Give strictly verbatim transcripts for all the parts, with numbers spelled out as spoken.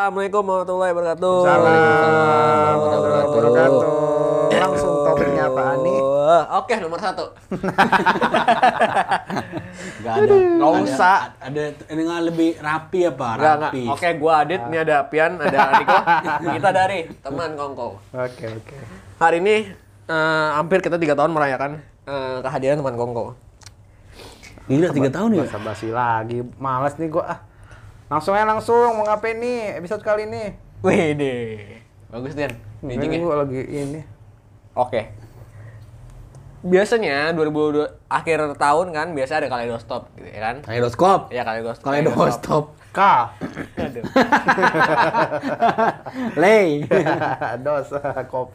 Assalamualaikum warahmatullahi wabarakatuh. Waalaikumsalam warahmatullahi wabarakatuh. Langsung topiknya apaan nih? Oke, nomor satu. Gak ada. Nggak usah. Ada, ada ini nggak lebih rapi apa? Nggak, nggak. Rapi. Oke, gua Adit, ini ada Pian, ada Niko. Kita dari teman Kongko. Oke oke. Hari ini eh, hampir kita tiga tahun merayakan eh, kehadiran teman Kongko. Gila tiga tahun ya? Basa-basi lagi, males nih gua ah. Langsung aja langsung, mau ngapain nih episode kali ini? Wih deh, bagus Dian. Ini Mijing ya. gua lagi ini. Oke. Biasanya dua ribu dua akhir tahun kan biasa ada kaleidoskop gitu ya kan? Kaleidoskop. Iya kaleidoskop. Kaleidoskop. K. Aduh. Lay. Dos kop.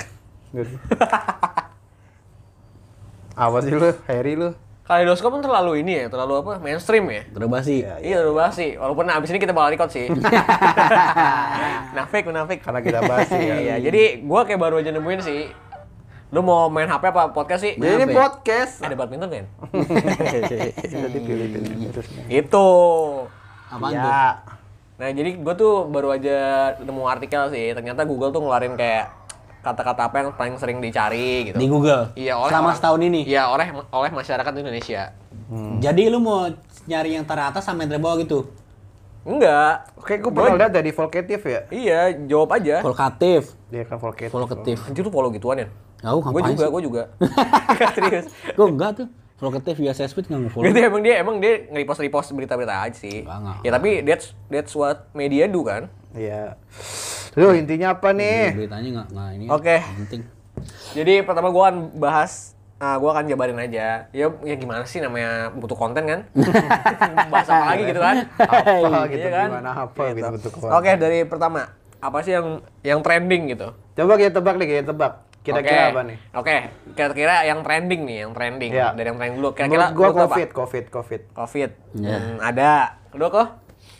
Apa sih lu? Harry lu? Kaleidoskop kan terlalu ini ya, terlalu apa? Mainstream ya. Terbasi. Iya, udah bahas sih. Walaupun abis ini kita bakal record sih. Nafik, nafik. Karena kita bahas ya. Iya, jadi gua kayak baru aja nemuin sih. Lu mau main H P apa podcast sih? Jadi ini podcast. Ada badminton kan? Jadi pilih-pilih terusnya. Itu. Apaan tuh? Ya. Nah, jadi gua tuh baru aja nemu artikel sih. Ternyata Google tuh ngeluarin kayak kata-kata apa yang paling sering dicari gitu. Di Google. Iya, oleh selama orang- setahun ini. Iya, oleh oleh masyarakat Indonesia. Jadi lu mau nyari yang teratas sama yang terbawah gitu? Enggak. Oke, gua pernah lihat dari Volkatif ya. Iya, jawab aja. Volkatif. Dia kan Volkatif. Volkatif. Anjir lu follow gituan ya? Aku Gue ngapain juga, sih? gue juga. Serius. Gue enggak tuh. Volkatif via Sespeed nggak nge-follow. Gitu emang dia emang dia nge-repost repost berita-berita aja sih. Enggak, enggak. Ya tapi that's that's what media do kan. Iya. Lu intinya apa nih? Beritanya nggak nggak ini. Oke. nggak penting. Jadi pertama gue akan bahas ah gue akan jabarin aja. Ya ya gimana sih namanya butuh konten kan? Bahas apa lagi gitu kan? Apa gitu Iya kan? gimana apa gitu bentuk Oke, dari pertama apa sih yang yang trending gitu? Coba kita tebak nih, kita tebak. Kira-kira Oke. apa nih? Oke, kira-kira yang trending nih, yang trending. Iya. Dari yang trending dulu. Kira-kira Menurut gua lu tuh apa? COVID, COVID, COVID. Covid. Iya. Hmm, ada. Kedua kok?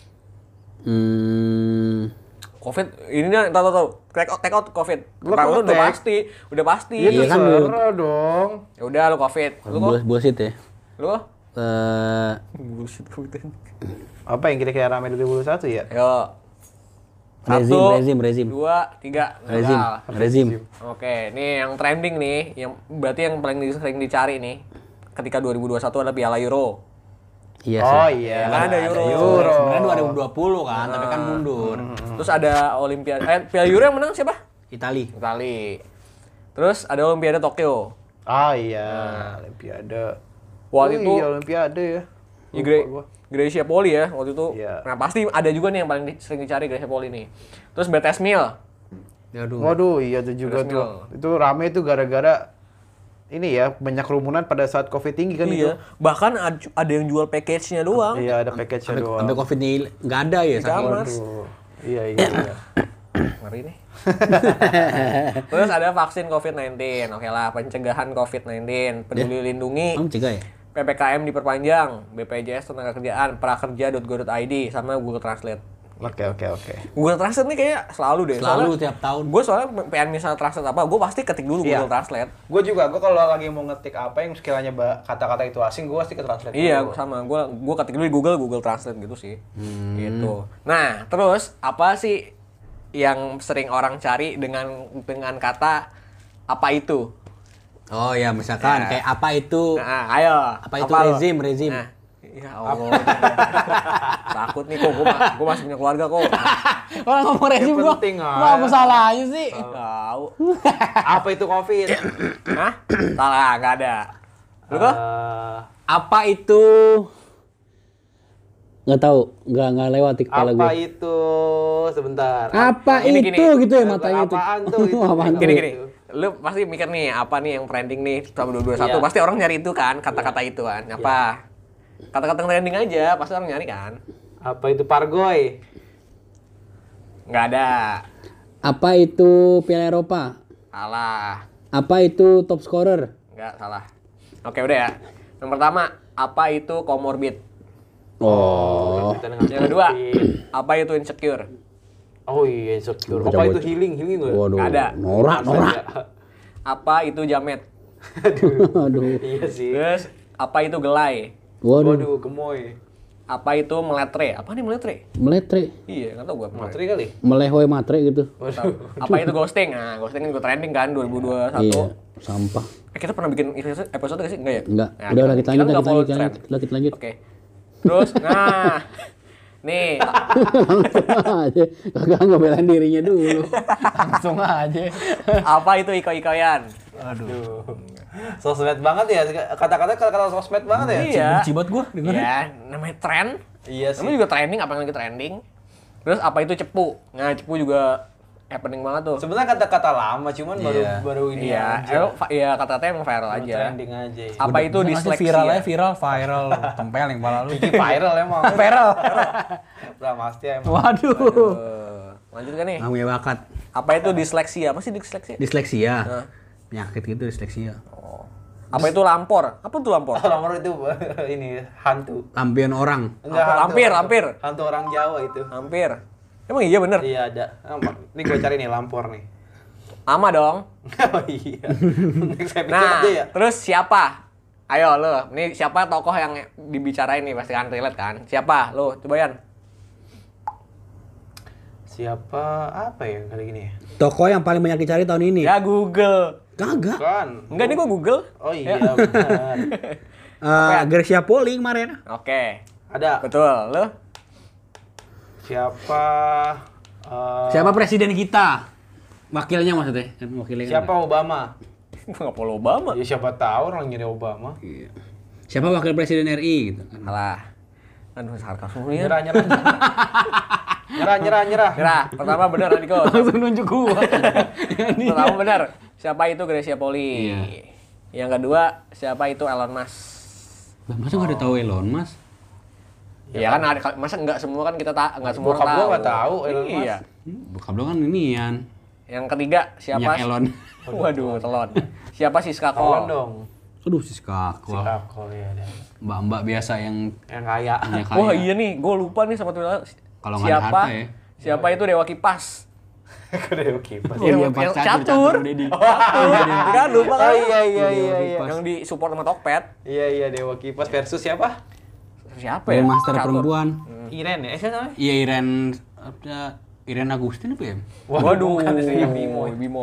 Hmm. Covid ini nih tahu tahu tahu. Take out, take out Covid. Lu Pertama kok lu udah take? pasti, udah pasti. Iya tuh Iya kan, seru dong. Ya udah lu Covid. Lu kok? Bull- Bullshit ya. Lu kok? Eh, Bullshit Covid. Apa yang kira-kira rame dua ribu dua puluh satu ya? Yo. rezim, Satu, rezim, rezim. Dua, tiga. Rezim, Gagal. rezim. Oke, ini yang trending nih, yang berarti yang paling di- sering dicari nih ketika dua ribu dua puluh satu adalah Piala Euro. Iya sih. Oh iya. Ya kan ada Euro. Euro. Sebenarnya dua ribu dua puluh kan, tapi kan mundur. Terus ada Olimpiade, eh Piala Euro yang menang siapa? Itali. Itali. Terus ada Olimpiade Tokyo. Ah iya, Olimpiade. Waktu Oh itu iya, Olimpiade ya. Ya, Lupa Gre- gua. Gracia Poli ya waktu itu. Iya. Nah pasti ada juga nih yang paling di- sering dicari Gracia Poli nih. Terus B T S Meal. Aduh. Waduh, iya tuh juga Terus tuh. Itu rame tuh gara-gara ini ya, banyak kerumunan pada saat Covid tinggi kan itu. Iya. Bahkan ad- ada yang jual package-nya doang. Iya, ada package-nya Sampai, doang. sampai Covid ini nggak ada ya Nggak saking. aman. Aduh. Iya, iya, iya. Ngeri nih. Terus ada vaksin covid sembilan belas. Oke lah, pencegahan covid sembilan belas, peduli lindungi, Kamu cegah ya? P P K M diperpanjang, B P J S tenaga kerjaan, prakerja titik go titik I D sama Google Translate. Oke, oke, oke. Google Translate nih kayak selalu deh. Selalu tiap tahun. Gue soalnya pengen misal translate apa, gue pasti ketik dulu Iya. Google Translate. Gue juga, gue kalau lagi mau ngetik apa yang sekiranya ba- kata-kata itu asing, gue pasti ke translate Iya, dulu. sama. Gua gua ketik dulu di Google, Google Translate gitu sih. Hmm. Gitu. Nah, terus apa sih yang sering orang cari dengan dengan kata apa itu? Oh ya, misalkan Ya. kayak apa itu? Nah, ayo. Apa itu lo? rezim, rezim? Nah, ya Allah. Takut nih kok, gua, ma- gua masih punya keluarga kok. Orang ngomong rezim Yang gua. penting, Gua ah. apa salahnya sih? Tahu. Apa itu Covid? Hah? Salah, enggak ada. Lu kok? Eh, Apa itu? Nggak tahu, nggak nggak lewat di kepala apa gue. itu? Sebentar. Apa Gini, itu gini. gitu ya matanya itu? Apaan tuh itu? Apaan tuh? Gini gini. Lu pasti mikir nih, apa nih yang trending nih tahun dua ribu dua puluh satu? Iya. Pasti orang nyari itu kan, kata-kata itu kan. Apa? Kata-kata yang trending aja, pasti orang nyari kan. Apa itu Pargoy? Nggak ada. Apa itu Piala Eropa? Salah. Apa itu top scorer? Nggak, salah. Oke, udah ya. Yang pertama, apa itu comorbid? Oh. Yang kedua, apa itu insecure? Oh iya, insecure. Bocah-bocah. Apa itu healing? Healing nggak? Waduh. Nggak ada. Norak, norak. Apa itu jamet? Aduh. Aduh. Iya sih. Terus, apa itu gelai? Waduh. Waduh, gemoy. Apa itu meletre? Apa nih meletre? Meletre. Iya, nggak tahu gua. Materi kali. Melehoi matre gitu. Tahu. Apa itu ghosting? Nah, ghosting kan juga trending kan dua ribu dua puluh satu. Iya, sampah. Eh, kita pernah bikin episode, episode gak sih? Enggak ya? Enggak. Nah, Udah, kita- udah kita kita lanjut, nggak kita follow lanjut, kita trend. lanjut, kita lanjut. Oke. Terus, nah, nih, Langsung aja. Kagak ngebelain dirinya dulu. Langsung aja. apa itu iko-ikoyan? Aduh. Sosmed banget ya, kata-kata kata-kata sosmed banget ya. Iya. Benci banget gua dengerin. Iya, namanya tren. Iya sih. Namanya juga trending, apa yang lagi trending. Terus apa itu cepu? Nah, cepu juga happening banget tuh. Sebenarnya kata-kata lama, cuman baru Iya. baru ini Iya, aja. emang fa- iya kata-kata emang viral Baru aja. trending aja. Ya. Apa itu Langsung disleksia? viral aja, viral, viral. Tempelin kepala lu. Ini viral emang. Viral. Pramastia emang. Waduh. Eh, lanjut kan nih? Nggak punya bakat. Apa itu disleksia? Apa sih disleksia? Disleksia. Nah. Penyakit gitu disleksia. Apa itu lampor? Apa itu lampor? Nomor itu ini hantu. Lampion orang. Enggak, Apa? hantu. Lampir, lampir. Hantu orang Jawa itu. Hampir. Emang iya bener? Iya ada. Ah, Ini gue cari nih lampor nih. Ama dong. Oh iya. Next episode Nah, aja ya. terus siapa? Ayo lo, ini siapa tokoh yang dibicarain nih pasti kan relate kan? Siapa? Lo, coba Yan. Siapa apa ya kali gini ya? Toko yang paling banyak dicari tahun ini. Ya Google. Kagak. Kan. Enggak, ini gua Google. Oh iya benar. Eh, Gracia Poli kemarin. Oke. Ada. Betul. Lo? Siapa eh, Siapa presiden kita? Wakilnya maksudnya. Kan wakilnya kan Siapa Obama? Gua nggak follow Obama. Ya siapa tahu orang nyari Obama. Iya. Siapa wakil presiden R I gitu kan. Alah. Aduh, sarkas mulu ya. Nyerah nyerah. nyerah nyerah nyerah. Nyerah. Pertama benar Adiko. Langsung nunjuk gua. Pertama benar. Siapa itu Gracia Poli? Iya. Yang kedua, siapa itu Elon Musk? Lah, masa nggak ada tahu Elon Mas? Ya, kan ada, masa enggak semua kan kita tak enggak semua Bokap orang gua tahu. nggak tahu Elon Musk. Iya. Bokap lo kan inian. Yang ketiga siapa? Minyak Elon. Waduh, telon. Siapa Siska Tolong Kol? dong. Aduh, si kakak. Sikap kol ya ada. Mbak-mbak biasa yang Yang kaya. punya kaya. Wah, iya nih, gue lupa nih sama Twitter. Kalau nggak ada Siapa? harta ya. Siapa itu Dewa Kipas? Udah oke. Oh Yang- iya, pas yang catur, catur. catur, Dedi. Catur. Kan lupa kan? Oh iya iya iya iya. Yang di support sama Tokped. Iya iya Dewa Kipas versus siapa? Siapa ya? Grandmaster Catur. perempuan. Iren ya? Eh siapa namanya? Iya, Iren apa Iren Agustin apa ya? Waduh, bukan istrinya Bimo. Bimo.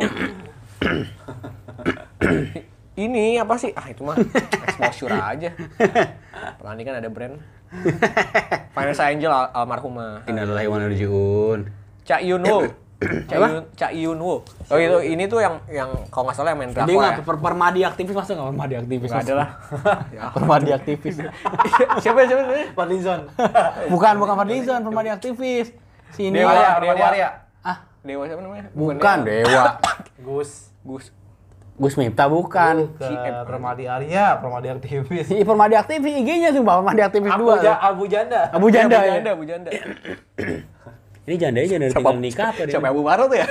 Ini apa sih? Ah, itu mah exposure aja. Pelani kan ada brand. Vanessa Angel al almarhumah. Innalillahi wa inna ilaihi raji'un. Cak Yun Woo. Cak Yun, Cak Yun Woo. Oh itu ini tuh yang yang kalau nggak salah yang main Dia drakor nggak ya. per permadi aktivis masa nggak permadi aktivis? Nggak ada lah. Ya. Permadi aktivis. Siapa siapa namanya? Fadlizon. Bukan bukan Fadlizon, permadi aktivis. Si ini. Dewa, Arya, Dewa. Dewa Arya. Ah, Dewa siapa namanya? bukan Dewa. Gus. Gus. Gus Miftah bukan. Ke Permadi Arya, Permadi aktivis. Si permadi aktivis I G-nya sih Bang, permadi aktivis Abu, dua. ja, Abu Janda. Abu Janda Abu ya. Janda, Abu Janda. Ini jandanya janda tinggal nikah apa dia? Siapa Abu Baro tuh ya?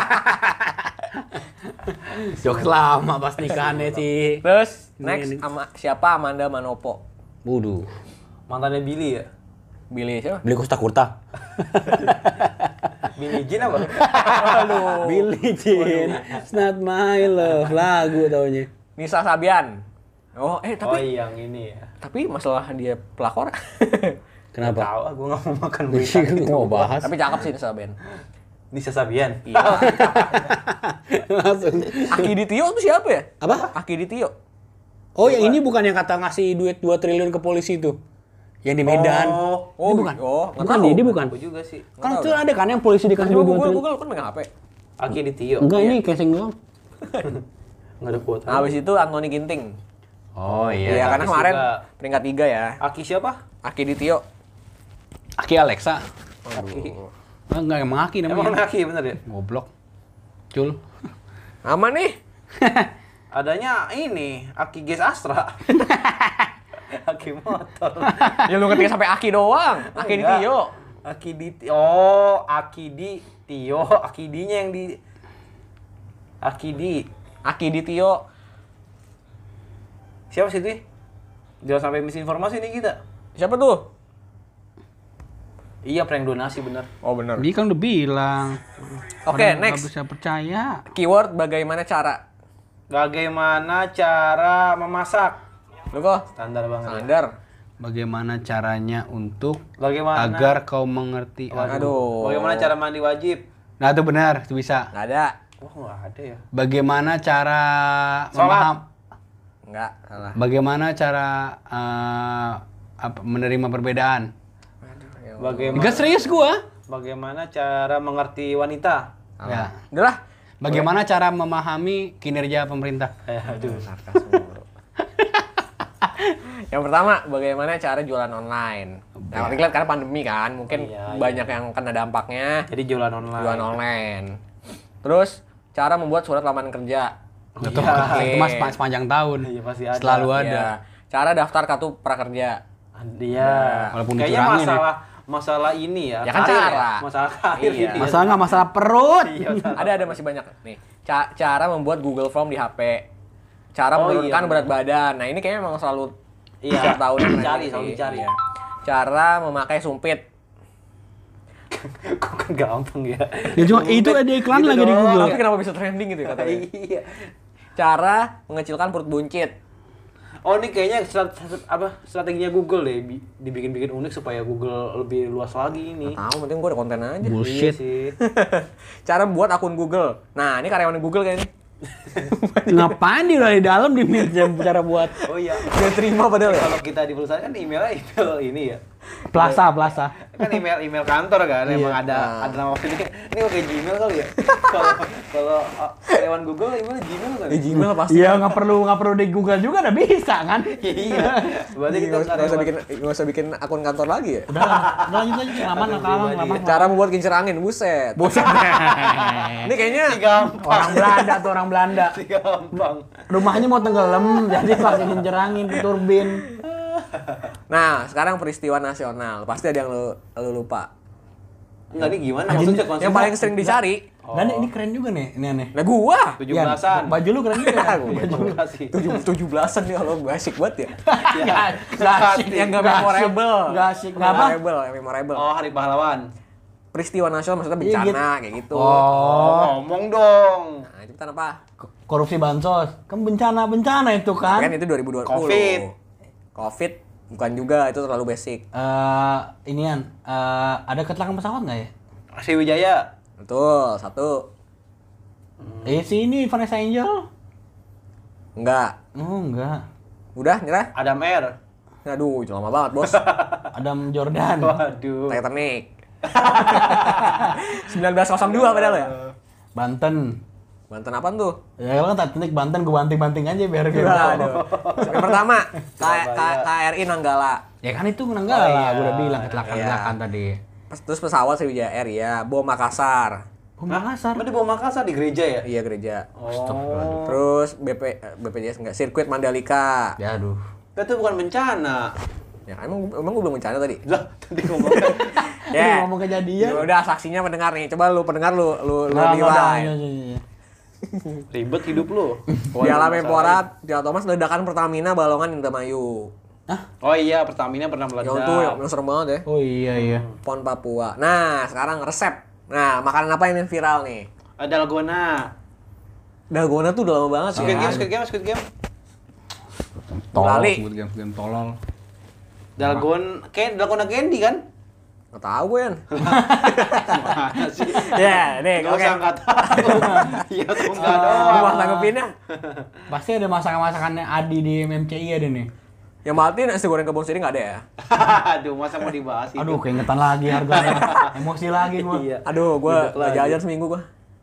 Jokes lama pas nikahannya sih. Terus Ini- next ini. ama, siapa Amanda Manopo? Waduh. Mantannya Billy ya? Billy siapa? Beli Costa Kurta. Billy Jean apa? Aduh. Billie Jean, It's Not My Love, lagu taunya. Nisa Sabian. Oh, eh Oh tapi yang ini ya. tapi masalah dia pelakor. Kenapa? Tahu, aku nggak mau makan berita. Jadi gitu. mau bahas. Tapi cakep sih Nisa Sabian. Nisa Sabian. Iya. Langsung. Aki Ditio tuh siapa ya? Apa? Aki Ditio. Oh, yang ini bukan yang kata ngasih duit dua triliun ke polisi itu. Yang di Medan. Oh, Oh, Ini bukan. Oh, nggak Bukan tahu. dia, dia bukan. aku juga sih. Kan itu ada kan yang polisi dikasih Coba duit dua Google, triliun. Google kan megang H P. Aki di Tio. Enggak, ini casing doang. Nggak ada kuota. Nah, habis itu Anthony Ginting. Oh Iya, Aki karena kemarin juga. peringkat tiga ya. Aki siapa? Aki Ditio. Aki Alexa. Aki. Ah, enggak, emang Aki Emang namanya. Aki bener ya? Goblok. Cul. Aman nih. Adanya ini, Aki Gas Astra. Aki motor. Ya lu ketika sampai Aki doang. Aki Enggak. Ditio. Aki di Oh, Aki di Tio, Aki di-nya yang di Aki di. Aki Ditio. Siapa sih itu? Jangan sampai misinformasi nih kita. Siapa tuh? Iya, prank donasi bener. Oh, benar. Dia kan udah bilang. Oke, Orang next. nggak bisa percaya. Keyword bagaimana cara? Bagaimana cara memasak? Lu kok Standar banget. standar. Bagaimana caranya untuk Bagaimana? agar kau mengerti? Aduh. Bagaimana cara mandi wajib? Nah itu benar, itu bisa. Nggak ada. Wah, nggak ada ya. Bagaimana cara Sholat. memaham? Nggak, salah. Bagaimana cara eh, apa, menerima perbedaan? Aduh, ya Allah. Bagaimana? Enggak serius gua. Bagaimana cara mengerti wanita? Ya. Udah lah. Bagaimana cara memahami kinerja pemerintah? Eh, aduh. Sarkas mulu. Yang pertama, bagaimana cara jualan online? Nah, tapi kan karena pandemi kan, mungkin Iya, iya. banyak yang kena dampaknya Jadi jualan online. jualan online. Terus, cara membuat surat lamaran kerja. Itu, Iya. itu mas mas sepanjang tahun. Iya, pasti ada. Selalu ada. Iya. Cara daftar kartu prakerja. Dia. Walaupun Kayaknya dicurangin ya. masalah masalah ini ya. Ya kan karir cara. Masalah karir Iya. gitu ya. Masalah nggak masalah perut. Iya, masalah. Ada ada masih banyak nih. Ca- cara membuat Google Form di H P. Cara Oh, menurunkan iya. berat badan. Nah, ini kayaknya memang selalu Iya. setiap tahun yang Dicari, sih. selalu dicari. Iya. Cara memakai sumpit. Kok kan gampang ya. Ya cuma itu ada iklan Gitu lagi di doang. Google. Tapi kenapa bisa trending gitu ya katanya? Iya. Cara mengecilkan perut buncit. Oh, ini kayaknya strat- strat- apa strateginya Google deh, bi- dibikin-bikin unik supaya Google lebih luas lagi ini. Tahu, penting gue ada konten aja. Iya Bullshit. sih. Cara buat akun Google. Nah, ini karyawan Google kayaknya. Ngapain dia udah di dalam di meja cara buat Oh iya. Gak terima padahal ya. Kalau kita di perusahaan kan emailnya email ini ya. plaza plaza. Kan email email kantor kan emang ada Nah. ada nama ini. Ini pakai Gmail kali ya. Kalau kalau uh, karyawan Google email Gmail kan. Di Gmail pasti. Iya nggak perlu nggak perlu di Google juga udah bisa kan? Iya. Berarti kita Nggak usah- nggak usah karyawan- bikin nggak usah bikin akun kantor lagi ya. Udah lah, udah lanjut aja kelamaan lah kelamaan kelamaan. Cara membuat kincir angin, buset. Bosan. Ini kayaknya gampang. Orang Belanda tuh orang Belanda. Gampang. Rumahnya mau tenggelam jadi pakai kincir turbin. Nah, sekarang peristiwa nasional. Pasti ada yang lu, lu lupa. Enggak nih gimana Anjing, maksudnya konsepnya? Yang paling sering dicari. Dan ini keren juga nih, ini aneh. Nah, gua. tujuh belasan. Yan, baju lu keren juga. ya? tujuh belas sih. Tujuh, tujuh belasan nih kalau gue asik banget ya. Nggak nggak asik, Yang gak nggak asik, memorable. nggak asik, nggak apa? Memorable, yang memorable. Oh, Hari Pahlawan. Peristiwa nasional maksudnya Iya, bencana kayak gitu. Oh, Ngomong dong. Nah, itu kan apa? korupsi bansos, kan bencana bencana itu kan. Kan itu dua ribu dua puluh. Covid. Covid bukan juga, itu terlalu basic. Eh, inian, eh, ada kecelakaan pesawat nggak ya? Sriwijaya. Betul, satu. Eh, si ini Vanessa Angel. Enggak. Oh, enggak. Udah, nyerah? Adam Air. Aduh, itu lama banget, Bos. Adam Jordan. Waduh. Titanic. seribu sembilan ratus dua padahal ya? Banten. Banten apaan tuh? Ya kalau kan Titanic Banten gue banting-banting aja biar kayak Aduh. Yang pertama, K K- K R I Nanggala. Ya kan itu Nanggala, Oh, iya. gue udah bilang kecelakaan-kecelakaan Iya. tadi. Pas- Terus pesawat Sriwijaya Air ya, bom Makassar. Oh, Makassar. Mana di bawah Makassar di gereja ya? Iya, gereja. Oh. Terus B P eh, B P J S enggak, sirkuit Mandalika. Ya aduh. Itu bukan bencana. Ya kan emang emang gue belum bencana tadi. Lah, tadi ngomong Ya. Lu ngomong kejadian. Ya udah, saksinya pendengar nih. Coba lu pendengar lu lu lu Nggak, nggak, nggak, nilai. iya, iya, iya. ribet hidup lu. Di alam Menpora, Piala Thomas ledakan Pertamina Balongan Indramayu. Oh iya, Pertamina pernah meledak. Yang tuh yang yang serem banget ya. Oh iya iya. Pon Papua. Nah, sekarang resep. Nah, makanan apa yang viral nih? Ada Dalgona. Dalgona tuh udah lama banget sih. Squid ya. Game, Squid Game, Squid Game. Lali. game game tolol. Dalgon, kayak Dalgona Candy kan? Nggak tahu gue kan. Gimana sih? Ya, nih Gak gue usah kayak nggak tahu. Iya tuh nggak gue doang. mau tanggepinnya. Pasti ada masakan-masakannya Adi di M C I ada nih. Yang mati nasi goreng kebun sirih nggak ada ya? Aduh, masa mau dibahas itu? Aduh, keingetan lagi harganya. Emosi lagi gua. Iya. Aduh, gue Udah nggak lagi. jajan seminggu gue.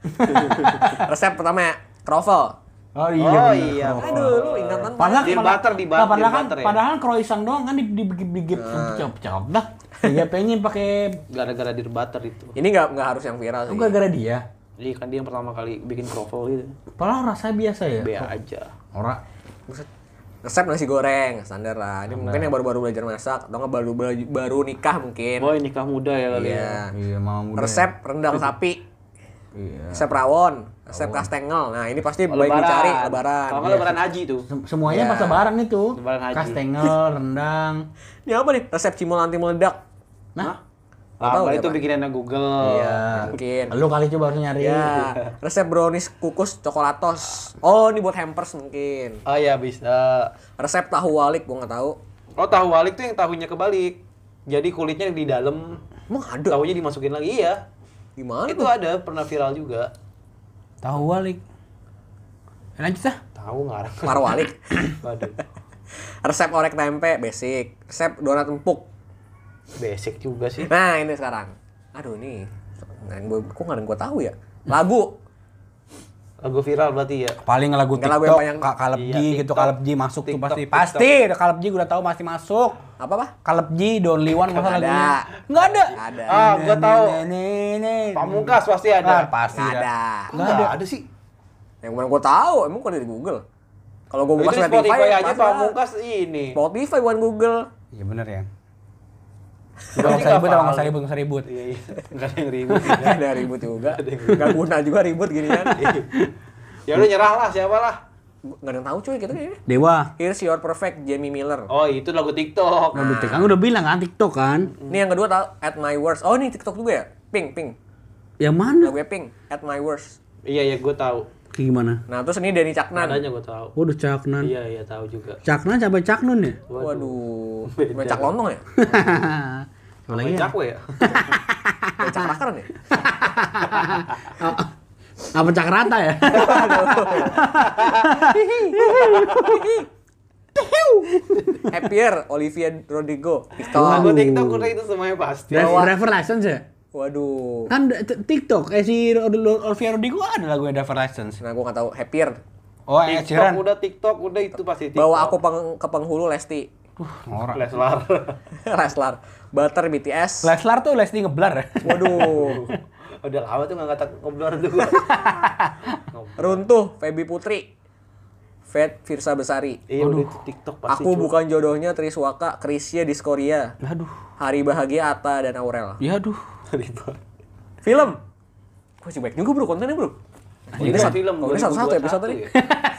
Resep pertama ya, kroffel. Oh iya. Oh bener. iya. Aduh, lu ingatan Padahal Di padahal- butter, di nah, butter, padahal di kan butter ya? padahal croissant doang kan digigit-gigit cop-cop dah. Dia pengen pakai Gara-gara di butter itu. Ini nggak nggak harus yang viral sih. itu gara-gara dia. Iya kan dia yang pertama kali bikin kroffel gitu. Padahal rasanya biasa ya. Be aja. Ora. Buset. Resep nasi goreng standar lah. Ini mungkin yang baru-baru belajar masak atau nggak baru baru, baru nikah mungkin. Boy nikah muda ya kali ya. Iya. Iya, mama muda. Resep rendang sapi. Iya. Resep rawon, resep kastengel. Nah, ini pasti Oh, baik lebaran. dicari lebaran. Kalau nggak Iya. lebaran haji tuh. Sem- Semuanya Iya. pas lebaran itu. Lebaran haji. Kastengel, rendang. Ini apa nih? Resep cimol anti meledak. Nah, Nggak tahu Apa ya, itu Pak. bikinannya Google. Iya, mungkin. lu kali coba harus nyari. Ya, resep brownies kukus coklatos. Oh, ini buat hampers mungkin. Oh iya bisa. Resep tahu walik gua nggak tahu. Oh, tahu walik tuh yang tahunya kebalik. Jadi kulitnya di dalam, Emang ada? tahunya dimasukin lagi. Iya. Gimana Itu tuh? ada, pernah viral juga. Tahu walik. Lanjut ah. Tahu ngarang. Marwalik. Waduh. Resep orek tempe basic. Resep donat empuk. Basic juga sih. Nah, ini sekarang. Aduh nih. Nggak ada yang gua- kok nggak ada yang gue tahu ya? Lagu. Lagu viral berarti ya. Paling lagu Nggak, lagu TikTok, yang Ka- Kaleb Iya, G gitu, TikTok. Kaleb G masuk tuh TikTok, pasti. TikTok. Pasti, udah Kaleb G gue udah tahu pasti masuk. Apa apa? Kaleb G, The Only One masa Nggak ada. lagunya. Enggak ada. Nggak ada. Ah, gua tahu. Nenek. Pamungkas pasti Ah, ada. pasti Nggak ada. ada. Nggak ada. ada sih. Yang kemarin gue tahu, emang kok ada di Google. Kalau gue buka Itu di Spotify, Spotify aja pasti Pamungkas ini. ada. Spotify bukan Google. Iya bener ya. Berarti Nggak usah ribut, nggak nggak usah valid. ribut, nggak usah ribut. Iya, iya. Nggak ada yang ribut. Gak ada ribut juga. Gak guna juga ribut gini kan. Ya udah nyerah lah, siapa lah. Gak ada yang tahu cuy kita kayaknya. Dewa. Here's Your Perfect, Jamie Miller. Oh, itu lagu TikTok. Nah, kan udah bilang kan TikTok kan. Ini yang kedua tahu At My Worst. Oh ini TikTok juga ya? Pink, Pink. Yang mana? Lagunya Pink, At My Worst. Iya, iya, gue tahu. Kayak gimana? Nah terus ini Denny Caknan. Nadanya gue tahu. Waduh, Caknan. Iya, iya, tahu juga. Caknan sampai Caknun ya? Waduh, Beda. becak lontong ya? Apa lagi ya? Cakwe ya? Becak rakaran ya? Apa Cak Rata ya? Happier, Olivia Rodrigo. TikTok. Lagu TikTok udah itu semuanya pasti. Driver, driver license ya? Waduh. Kan t- TikTok, eh si Olivia Rodrigo ada lagunya driver license. Nah gua gak tahu. Happier. Oh, Ed TikTok Sheeran. udah TikTok udah itu pasti TikTok. Bawa aku peng- ke penghulu Lesti. Norak. Leslar. Leslar. Butter B T S. Leslar tuh Lesti ngeblar ya? Waduh. Udah lama tuh nggak kata ngobrol tuh gua. Runtuh, Feby Putri. Fat Firsa Besari. Iya udah itu TikTok pasti. Aku cuy. bukan jodohnya Triswaka, Krisya Diskoria. Aduh. Hari Bahagia Atta dan Aurel. Ya aduh. Ribet. Film. Wah, sih baik juga bro kontennya bro. Ini Ini satu- film oh, ini satu-satu episode tadi. ya.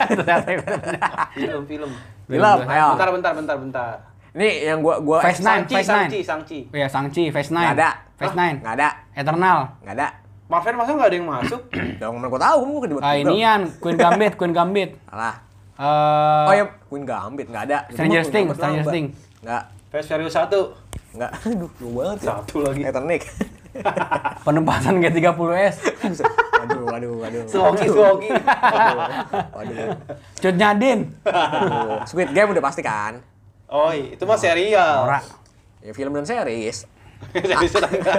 Film, film. Film, ayo. Bentar, bentar, bentar, bentar. Ini yang gua gua Face Nine, Sangci, Face Nine. Sangci, Sangci. Oh ya, Sangchi, Face Nine. Nggak ada. Face Hah? Nine. Nggak ada. Eternal. Nggak ada. Marvel masa nggak ada yang masuk? Yang mana gua tahu, gua bukan di Ah, inian, Queen Gambit, Queen Gambit. Salah. Eh, Oh ya, Queen Gambit nggak ada. Stranger Queen Things, Gambit Stranger lama. Things. Nggak. Fast Furious satu. Nggak. Aduh, jauh banget ya. Satu lagi. Titanic. Penempasan G tiga puluh S. Aduh, aduh, aduh. Suwoki, Suwoki. Waduh. Cut Nyadin. Aduh. Squid Game udah pasti kan? Oh, itu mah serial. Ora. Ya film dan series. Serius enggak?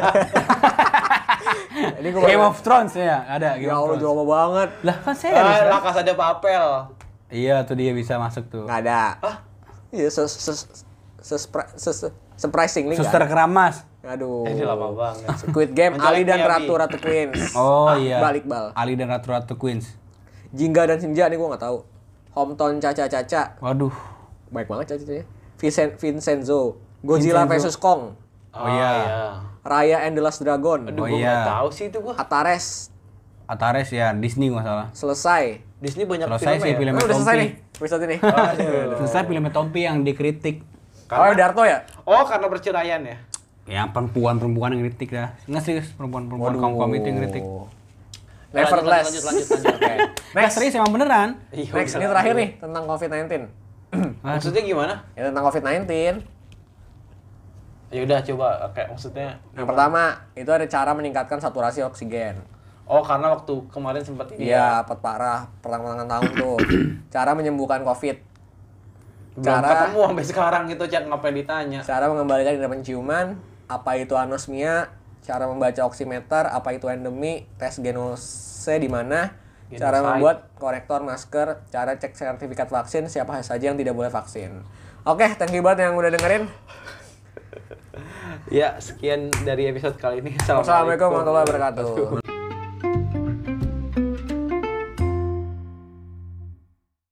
Ini gua Game of Thrones ya, ada Game Ya of Allah, Thrones. jauh banget. Lah kan saya Ah, La Casa de Papel. Iya, tuh dia bisa masuk tuh. Nggak ada. Iya, se se se se surprisingly nggak Suster ada. Keramas. Aduh. Ini lama banget. Squid Game, Ali dan Miami. Ratu Ratu Queens. Oh iya. Balik bal. Ali dan Ratu Ratu Queens. Jingga dan Sinja nih gua nggak tahu. Hometown Caca Caca. Waduh. Baik banget Caca-cacanya. Vincent Vincenzo. Godzilla Vincenzo. versus Kong. Oh, iya. Raya and the Last Dragon. Aduh, Oh, gua iya. nggak tahu sih itu gua. Atares. Atares ya, Disney nggak salah. Selesai. Disney banyak Selesai filmnya sih ya? film. Oh, udah selesai Tompi. nih episode ini. Selesai filmnya Tompi yang dikritik. Oh, Darto ya? Oh, karena perceraian ya? Ya perempuan-perempuan yang kritik dah. Nggak serius perempuan-perempuan kaum kaum itu yang kritik. Nevertheless. Lanjut, lanjut, lanjut, lanjut. Oke. Nggak Next. serius emang beneran. Iya, Next, udah. ini terakhir nih tentang covid sembilan belas. Maksudnya gimana? Ya tentang covid sembilan belas. Ya udah coba kayak maksudnya. Yang pertama, itu ada cara meningkatkan saturasi oksigen. Oh, karena waktu kemarin sempat ini. Iya, pet parah pertengahan tahun tuh. Cara menyembuhkan covid. Belum Cara ketemu sampai sekarang gitu, Cak, ngapain ditanya? cara mengembalikan indera penciuman, apa itu anosmia, cara membaca oximeter, apa itu endemi, tes genose di mana, cara Genoside. membuat korektor masker, cara cek sertifikat vaksin, siapa saja yang tidak boleh vaksin. Oke, thank you banget yang udah dengerin. Ya, sekian dari episode kali ini. Wassalamualaikum warahmatullahi wabarakatuh.